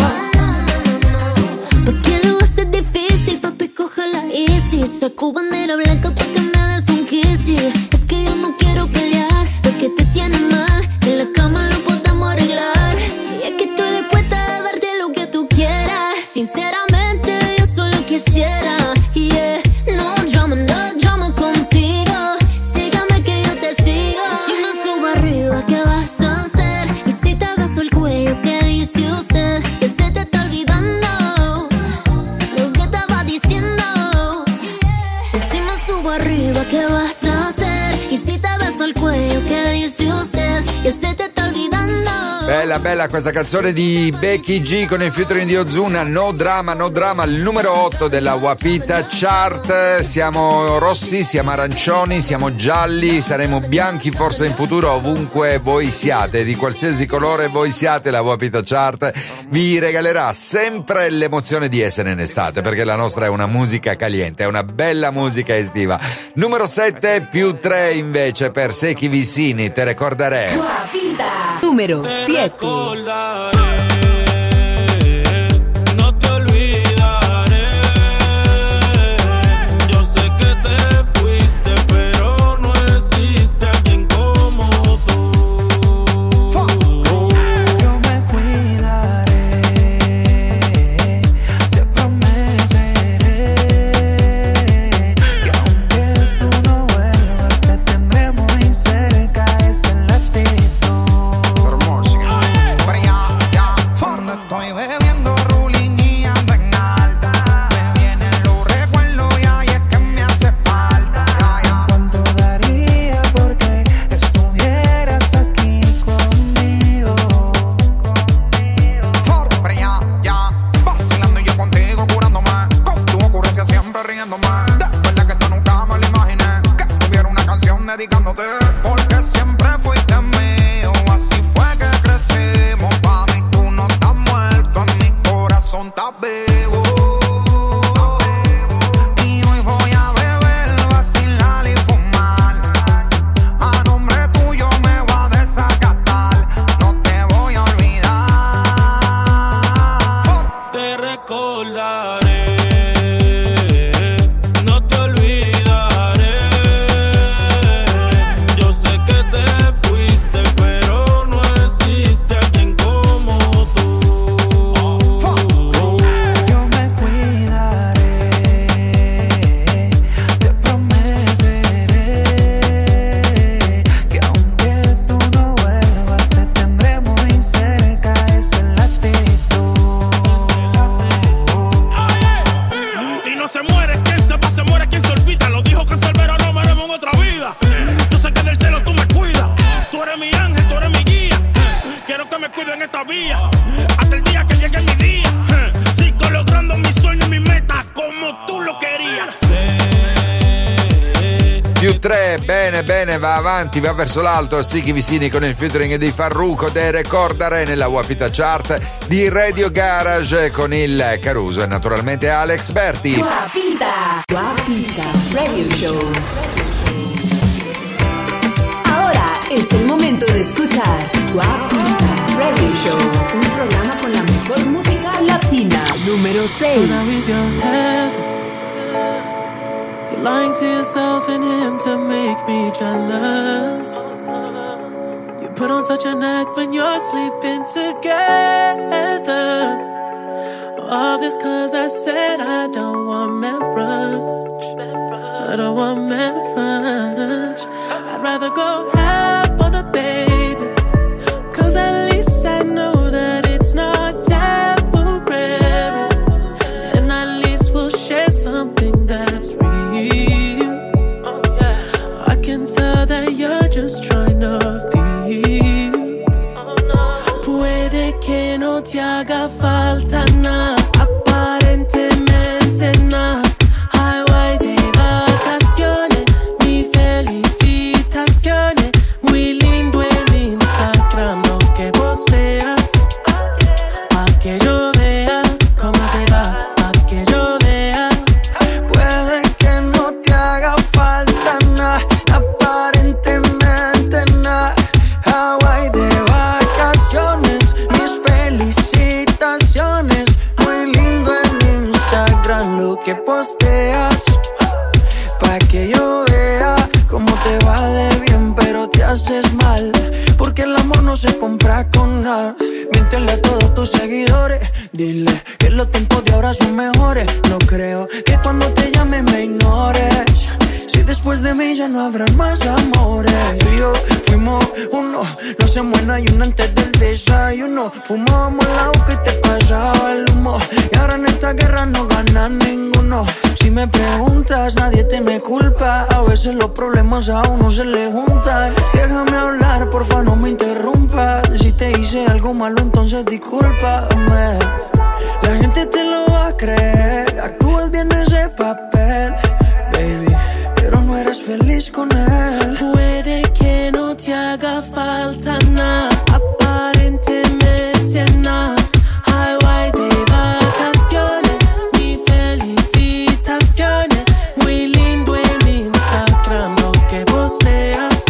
¿Por qué lo haces difícil, papi? Cógela easy. Saco bandera blanca pa' que me des un kiss. Es que yo no quiero pelear, porque te tiene mal. En la cama lo podemos arreglar. Y es que estoy dispuesta a darte lo que tú quieras. Sinceramente, yo solo quisiera. No drama contigo. Sígame que yo te sigo. Y si me subo arriba, ¿qué vas a hacer? Y si te beso el cuello, ¿qué dice usted? Que se te está olvidando lo que estaba diciendo. Y si me subo arriba, ¿qué vas a hacer? Y si te beso el cuello, ¿qué dice usted? Que se te está olvidando. Bella questa canzone di Becky G con il featuring di Ozuna. No drama, il numero 8 della Wapita Chart. Siamo rossi, siamo arancioni, siamo gialli, saremo bianchi forse in futuro ovunque voi siate, di qualsiasi colore voi siate. La Wapita Chart vi regalerà sempre l'emozione di essere in estate, perché la nostra è una musica caliente, è una bella musica estiva. Numero 7 più 3 invece per Secchi Vicini, Te Recordaré. Wapita. Numero 7. No te olvidaré. Yo sé que te fuiste, pero no existe alguien como tú. Yo me cuidaré, te prometeré que aunque tú no vuelvas, te tendré muy cerca. Esa es la actitud. se muere, quien se va se muere, quien se olvida. Lo dijo Canserbero, no veremos en otra vida. Yo sé que del cielo tú me cuidas. Tú eres mi ángel, tú eres mi guía. Quiero que me cuiden en esta vía hasta el día que llegue mi día. Sigo logrando mis sueños y mis metas como tú lo querías. Più 3, bene, va avanti, va verso l'alto. Siki Vicini con il featuring di Farruko de Recordare nella Wapita Chart di Radio Garage con il Caruso e naturalmente Alex Berti. Wapita Radio Show. Ahora es el momento de escuchar Wapita Radio Show, un programa con la mejor música latina. Número 6. So now he's your heaven. You're lying to yourself and him to make me jealous. You put on such an act when you're sleeping together. All this cause I said I don't want marriage. I don't want marriage. I'd rather go half on a baby, cause at least I know that it's not temporary, and at least we'll share something that's real. I can tell that you're just trying to feel. Puede que no te haga falta nada, aparentemente nada. Highway de vacaciones, mi felicitaciones. Muy lindo el Instagram lo que posteas, pa' que yo vea cómo te va, pa' que yo vea. Puede que no te haga falta nada, aparentemente nada. Hawaii de vacaciones, mis felicitaciones. Muy lindo en Instagram lo que posteas, pa' que yo vea cómo te va de bien, pero te haces mal, porque el amor no se compra con nada. Miéntele a todos tus seguidores, dile que los tiempos de ahora son mejores. No creo que cuando te llame me ignores, si después de mí ya no habrán más amores. Tú y yo fuimos uno, no se muera y uno antes del desayuno. Fumábamos el agua que te pasaba el humo, y ahora en esta guerra no gana ninguno. Si me preguntas, nadie te me culpa, a veces los problemas a uno se le juntan. Déjame hablar, porfa, no me interrumpas. Si te hice algo malo, entonces discúlpame. La gente te lo va a creer, actúas bien ese papel, baby, pero no eres feliz con él. Puede que no te haga falta nada, aparentemente nada. Highway de vacaciones, mi felicitaciones. Muy lindo en Instagram lo que posteas,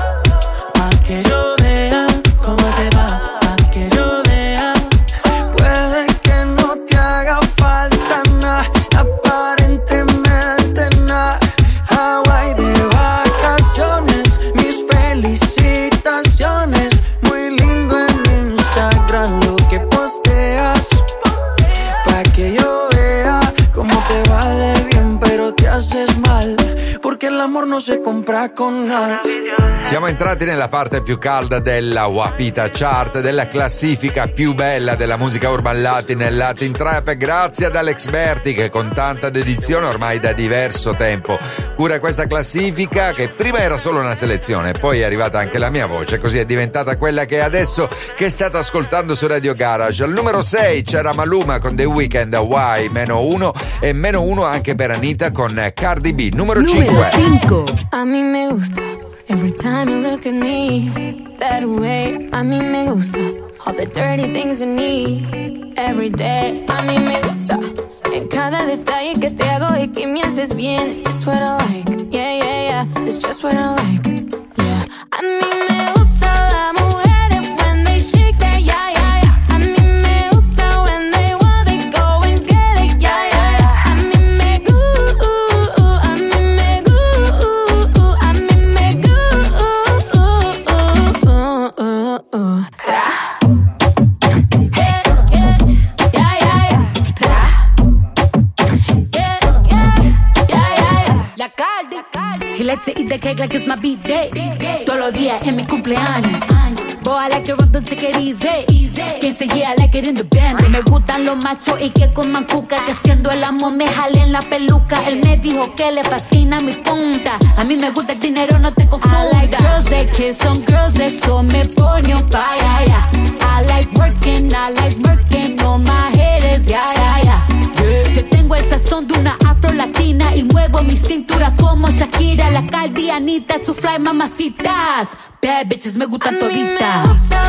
pa' que yo vea cómo te va, pa' que yo vea. Puede que no te haga falta nada, aparentemente nada. Hawaii de vacaciones, mis felicitaciones. Muy lindo en Instagram lo que posteas, pa' que yo vea cómo te va de bien, pero te haces mal, porque el amor no se compra con nada. Siamo entrati nella parte più calda della Wapita Chart, della classifica più bella della musica urban latin e latin trap, grazie ad Alex Berti che con tanta dedizione ormai da diverso tempo cura questa classifica, che prima era solo una selezione, poi è arrivata anche la mia voce, così è diventata quella che è adesso, che state ascoltando su Radio Garage. Al numero 6 c'era Maluma con The Weeknd, Why, -1, e -1 anche per Anita con Cardi B. Numero 5. A mí me gusta every time you look at me that way. A mí me gusta all the dirty things you need every day. A mí me gusta en cada detalle que te hago y que me haces bien. It's what I like, yeah, yeah, yeah. It's just what I like, yeah. A mí me gusta la mujeres when they shake that, yeah, yeah, yeah. A mí me gusta when they want, they go and get it, yeah, yeah, yeah. A mí me gusta, a mí me gusta, a mí me gusta. Tra. Yeah, yeah, yeah, yeah, yeah. Tra. Yeah, yeah, yeah, yeah, yeah. La Cardi, he likes to eat the cake like it's my birthday. Todos los días es mi cumpleaños. Boy, I like it rough, don't take it easy. Quien se yeah, I like it in the band. Me gustan los machos y que coman cuca, que haciendo el amor me jalen la peluca. Él me dijo que le fascina mi punta. A mí me gusta el dinero, no te confunda. I like girls that kiss on girls, eso me pone on fire, yeah. I like working on my haters, yeah, yeah, yeah. Yo tengo el sazón de una afro-latina y muevo mi cintura como Shakira, la caldianita, su fly mamacitas. Bad bitches me gustan toditas.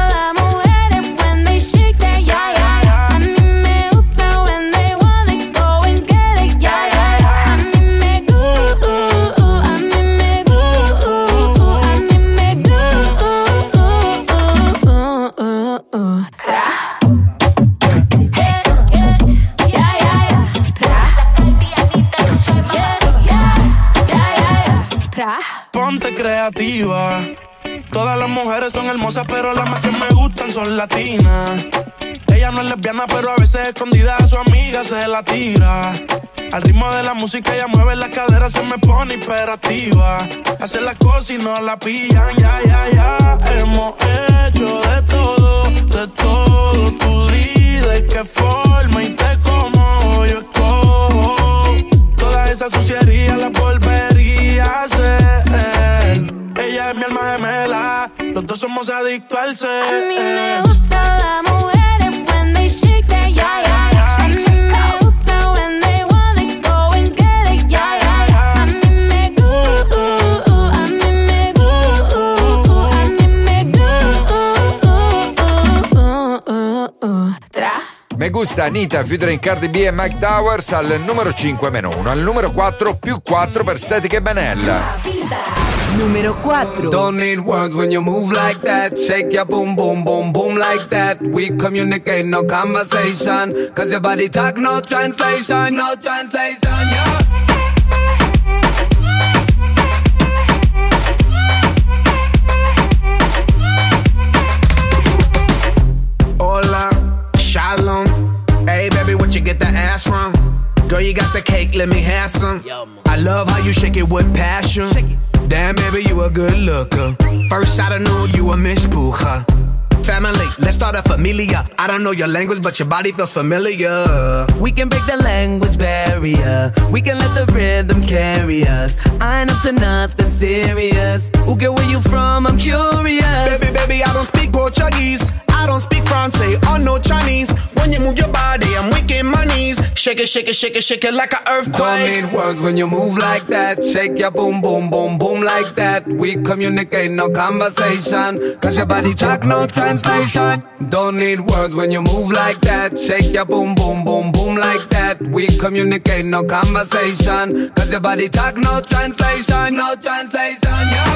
Ponte creativa. Todas las mujeres son hermosas, pero las más que me gustan son latinas. Ella no es lesbiana, pero a veces escondida a su amiga se la tira. Al ritmo de la música ella mueve las caderas, se me pone hiperactiva. Hace las cosas y no la pillan, ya, ya, ya. Hemos hecho de todo, de todo. Tú di de qué forma y te como yo escojo. Toda esa suciería la volvería a hacer. Ella es mi alma gemela, los dos somos adictos al ser. A mí me gusta las mujeres when they shake that, yeah, yeah, yeah. A mí me gusta when they wanna go and get it, yeah, yeah, yeah. A mí me gusta, a mí me gusta, a mí me gusta. Me gusta Anita featuring Cardi B e Mike Towers al numero 5 -1, al numero 4 +4 per Static e Benella. Numero 4. Don't need words when you move like that. Shake your boom, boom, boom, boom like that. We communicate, no conversation. Cause your body talk, no translation, no translation, yeah. Hola, shalom. Hey baby, what you get the ass from? Girl, you got the cake, let me have some. I love how you shake it with passion. Damn, baby, you a good looker. First I don't know you a Miss Puja. Family, let's start a familia. I don't know your language, but your body feels familiar. We can break the language barrier. We can let the rhythm carry us. I ain't up to nothing serious. Ooh, girl, where you from? I'm curious. Baby, I don't speak Portuguese. I don't speak Francais or no Chinese. When you move your body, I'm weak in my knees. Shake it, shake it, shake it, shake it like an earthquake. Don't need words when you move like that. Shake your boom, boom, boom, boom like that. We communicate, no conversation. Cause your body talk, no translation. Don't need words when you move like that. Shake your boom, boom, boom, boom like that. We communicate, no conversation. Cause your body talk, no translation, no translation, yeah.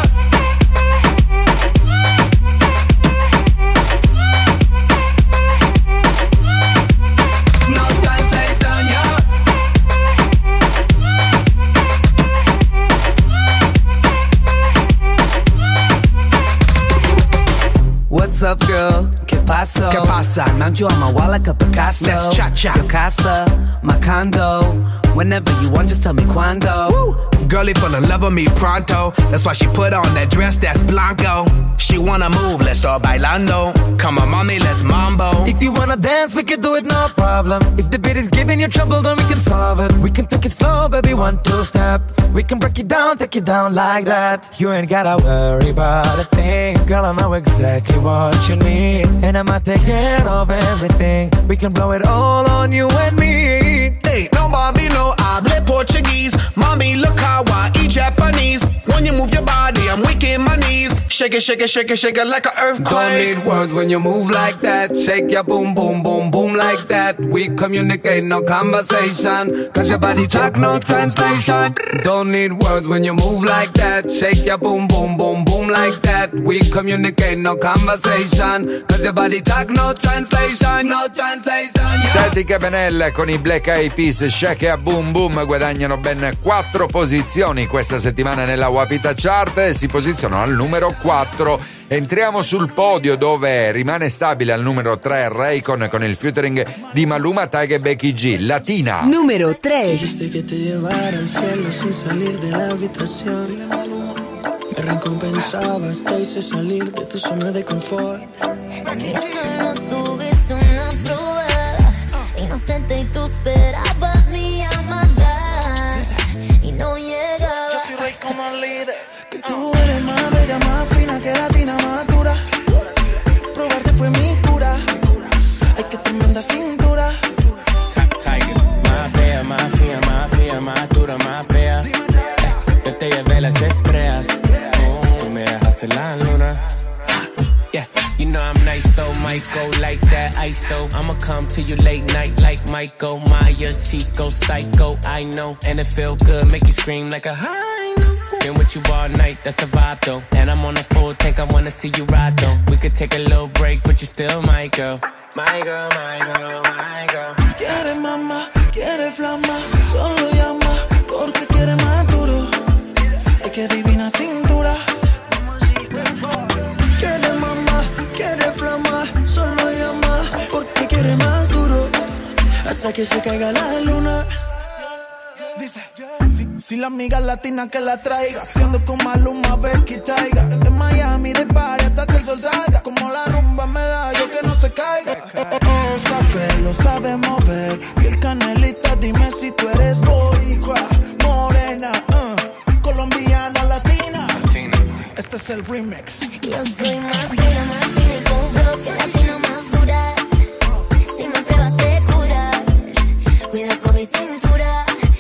What's up, girl? ¿Qué pasa? ¿Qué pasa? Mount you on my wall like a Picasso. Let's cha-cha. Your casa, my condo. Whenever you want, just tell me cuando. Woo! Girlie full of love with me pronto. That's why she put on that dress that's blanco. She wanna move, let's start bailando. Come on, mommy, let's mambo. If you wanna dance, we can do it, no problem. If the beat is giving you trouble, then we can solve it. We can take it slow, baby, 1, 2 step. We can break it down, take it down like that. You ain't gotta worry about a thing. Girl, I know exactly what you need. And I'ma take care of everything. We can blow it all on you and me. Hey, no, Bobby, no, hable Portuguese. Mommy, look how I eat Japanese. When you move your body, I'm weak in my knees. Shake it, shake it, shake it, shake it like an earthquake. Don't need words when you move like that. Shake your boom, boom, boom, boom like that. We communicate, no conversation. Cause your body talk, no translation. Don't need words when you move like that. Shake your boom, boom, boom, boom like that. We communicate, no conversation. Cause your body talk, no translation, no translation. Static e Benella con i Black Eyed Peas, Shake a Boom Boom guadagnano ben 4 posizioni questa settimana nella Wapita Chart e si posizionano al numero 4. Entriamo sul podio dove rimane stabile al numero 3 Raycon con il featuring di Maluma, Tyga e Becky G, Latina. Numero 3. Dijiste que te llevara al cielo sin salir de la habitación. me recompensabas, te hice salir de tu zona de confort. Aquí solo tuviste una prueba, inocente y tú esperabas mi llamada y no llegaba. Yo soy rey como el líder, que tú eres más bella, más fina que latina, más dura. Probarte fue mi cura, ay que tremenda cintura. Tiger, más bella, más fina, más dura, más bella. Yo te llevé las estrellas, tú me dejaste la luna. Yeah, you know I'm nice though, might go like that ice though. I'ma come to you late night like Michael Myers. She go psycho, I know, and it feel good, make you scream like a high note. Been with you all night, that's the vibe though. And I'm on a full tank, I wanna see you ride though. We could take a little break, but you still my girl. My girl, my girl, my girl. Quiere mamá, quiere flama, solo llama porque quiere más duro. Ay que divina cintura. Quiere mamá, quiere flama, solo llama porque quiere más duro. Hasta que se caiga la luna. Dice, si la amiga latina que la traiga, siendo con Maluma, Becky, Taiga. De Miami, de party hasta que el sol salga. Como la rumba me da, yo que no se caiga. Café, lo sabe mover. Piel canelita, dime si tú eres boricua, morena, colombiana, latina. Este es el remix. Yo soy más bella, más fina y con flow que latina más dura. Si me pruebas te curas, cuida con mi cintura.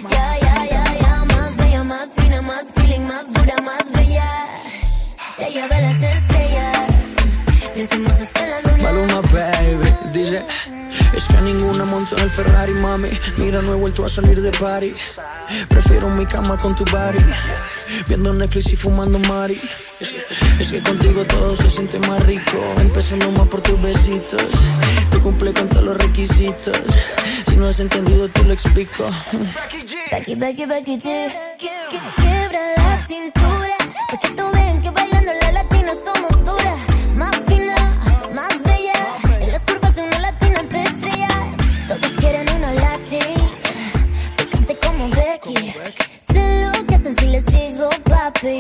Ya, más bella, más fina, más feeling, más dura, más bella. Te llevé las estrellas, decimos hasta la luna. Maluma, baby, dice, es que ninguna montó en el Ferrari, mami. Mira, no he vuelto a salir de party. Prefiero mi cama con tu body, viendo Netflix y fumando mari. Es que contigo todo se siente más rico, empezando más por tus besitos. Te cumple con todos los requisitos. Si no has entendido, te lo explico. Becky, G. Quiebra la cintura, pa' que tú vean que bailando las latinas somos duras. Más fina, más bella, en las curvas de una latina te estrellas. Todos quieren una latina, picante como Becky. Sé lo que hacen si les digo papi.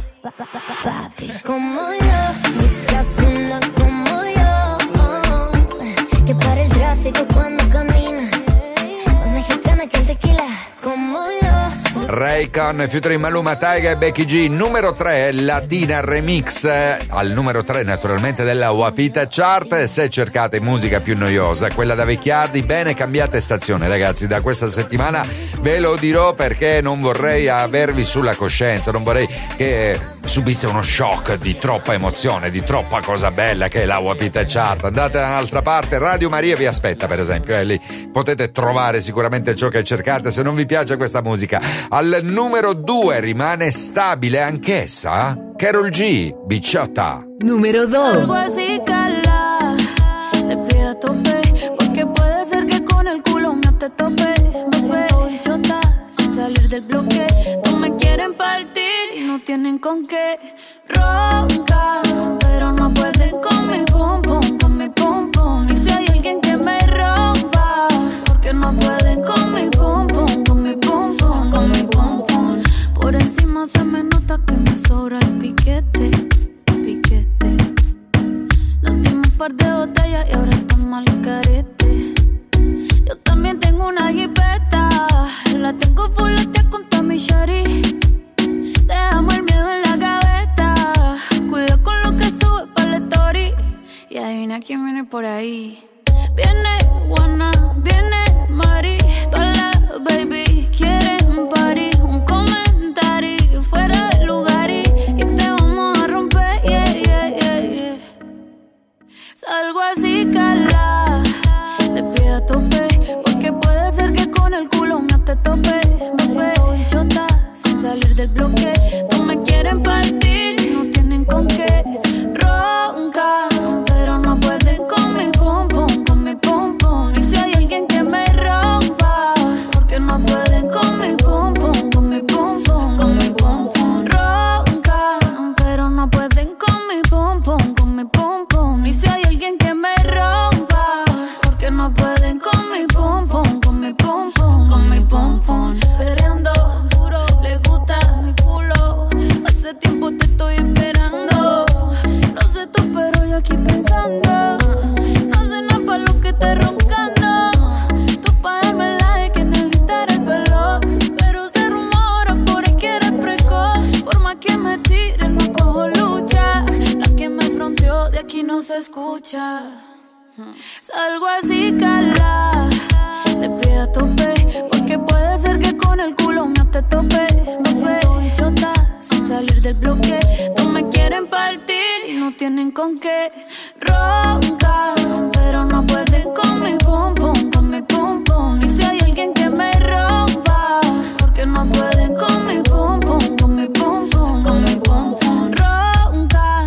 Papi, como yo, buscas una como yo, que para el tráfico cuando camina, más mexicana que el tequila, como yo. Raycon, featuring Maluma, Taiga e Becky G. Numero 3, Latina Remix. Al numero 3 naturalmente della Wapita Chart. Se cercate musica più noiosa, quella da vecchiardi, bene, cambiate stazione ragazzi. Da questa settimana ve lo dirò perché non vorrei avervi sulla coscienza, non vorrei che subisse uno shock di troppa emozione, di troppa cosa bella che è la Wapita Chart. Andate da un'altra parte, Radio Maria vi aspetta per esempio, lì potete trovare sicuramente ciò che cercate se non vi piace questa musica. Al numero 2 rimane stabile anch'essa Karol G, Bichota. Numero 2. Algo así, cala, te pide a tope, porque puede ser que con el culo mío te tope. Me siento bichota, sin salir del bloque. No me quieren partir y no tienen con qué. Ronca, pero no pueden con mi pum pum, con mi pum pum. Y si hay alguien que me rompa, porque no pueden con mi pum pum, con mi pum pum, con mi pum pum. Por encima se me nota que me sobra el piquete, piquete. Nos dimos un par de botellas y ahora estamos al carete. Yo también tengo una jipeta, la tengo fuletea con Tommy Shari. Dejamos el miedo en la gaveta, cuida con lo que sube para la story. Y adivina quién viene por ahí. Viene Juana, viene Mari, todas las baby quieren party. Un comentario fuera del lugar y te vamos a romper, yeah. Salgo así, cala, te pido a tope, porque puede ser que con el culo me te tope. Me siento bichota, sin salir del bloque. No me quieren partir y no tienen con qué. Ronca, pero no pueden con mi pum pum, con mi pum pum. Y si hay alguien que me rompa, porque no pueden con mi se escucha. Salgo así, cala, de pie a tope, porque puede ser que con el culo no te tope. Me suelto bichota, sin salir del bloque. No me quieren partir y no tienen con qué. Roncan, pero no pueden con mi pum pum, con mi pum pum. Y si hay alguien que me rompa, porque no pueden con mi pum pum, con mi pum pum, con mi pum pum. Roncan.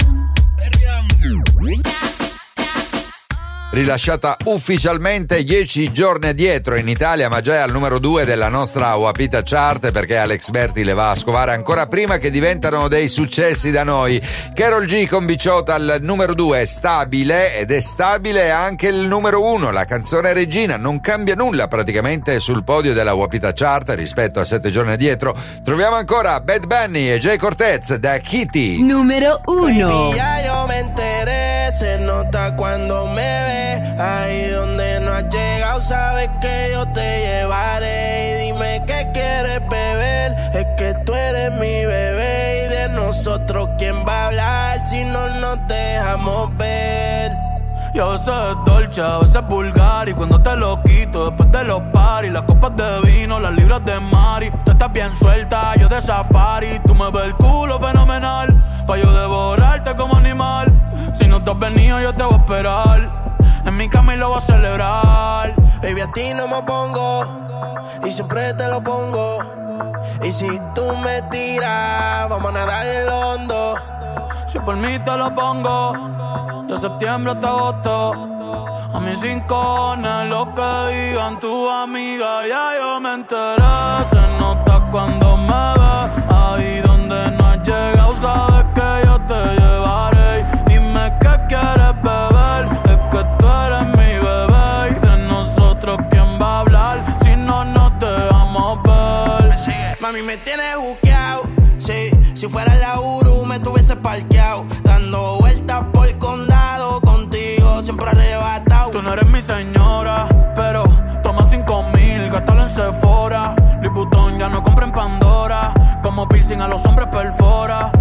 Rilasciata ufficialmente 10 giorni addietro in Italia, ma già è al numero 2 della nostra Wapita Chart, perché Alex Berti le va a scovare ancora prima che diventano dei successi da noi. Karol G con Bicciota al numero 2 è stabile, ed è stabile anche il numero 1, la canzone regina. Non cambia nulla praticamente sul podio della Wapita Chart rispetto a 7 giorni addietro. Troviamo ancora Bad Bunny e Jay Cortez da Kitty. Numero 1. Baby, ya yo me enteré, se nota cuando me ve. Ahí donde no has llegado, sabes que yo te llevaré. Y dime qué quieres beber, es que tú eres mi bebé. Y de nosotros, ¿quién va a hablar si no nos dejamos ver? Y a veces es dolce, a veces es vulgar. Y cuando te lo quito, después de los paris, las copas de vino, las libras de Mari. Tú estás bien suelta, yo de safari. Tú me ves el culo fenomenal, pa' yo devorarte como animal. Si no te has venido, yo te voy a esperar. En mi cama y lo voy a celebrar. Baby, a ti no me pongo y siempre te lo pongo. Y si tú me tiras, vamos a nadar en el hondo. Si por mí te lo pongo, de septiembre hasta agosto. A mis rincones, lo que digan tu amiga, ya yo me enteré. Se nota cuando me ves, ahí donde no has llegado, sabes que yo te llevaré. Dime qué quieres beber, es que tú eres mi bebé. Y de nosotros, ¿quién va a hablar si no nos dejamos ver? Mami, me tienes buqueado, sí. Si fuera la Uru, me tuviese parqueado, dando vueltas por el condado, contigo siempre arrebatado. Tú no eres mi señora, pero toma 5,000, gástalo en Sephora. Louis Vuitton ya no compra en Pandora, como piercing a los hombres perfora.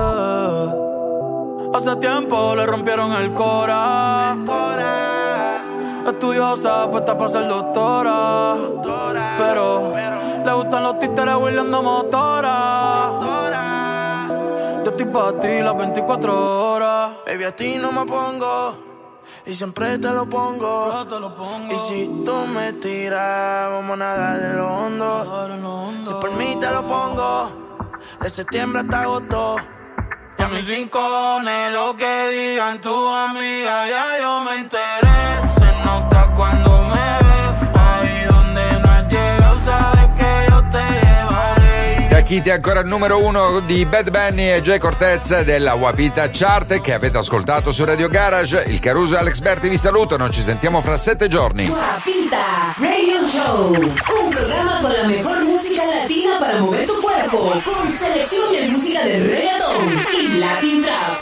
Hace tiempo le rompieron el cora. Estudiosa, puesta para ser doctora, pero le gustan los títeres huirleando motora. Yo estoy pa' ti las 24 horas. Baby, a ti no me pongo y siempre te lo pongo. Y si tú me tiras, vamos a nadar en lo hondo. Si por mí te lo pongo, de septiembre hasta agosto. Y a mis rincones, lo que digan tu amiga, ya yo me enteré. Se nota cuando me ves, ahí donde no has llegado, sabes que yo te llevaré. Da Kitty ancora il numero 1 di Bad Bunny e Jay Cortez della Wapita Chart, che avete ascoltato su Radio Garage. Il Caruso e Alex Berti vi salutano, ci sentiamo fra 7 giorni. Wapita Radio Show, un programa con la mejor música latina para mover tu cuerpo, con selección de música de reggaetón y Latin Trap.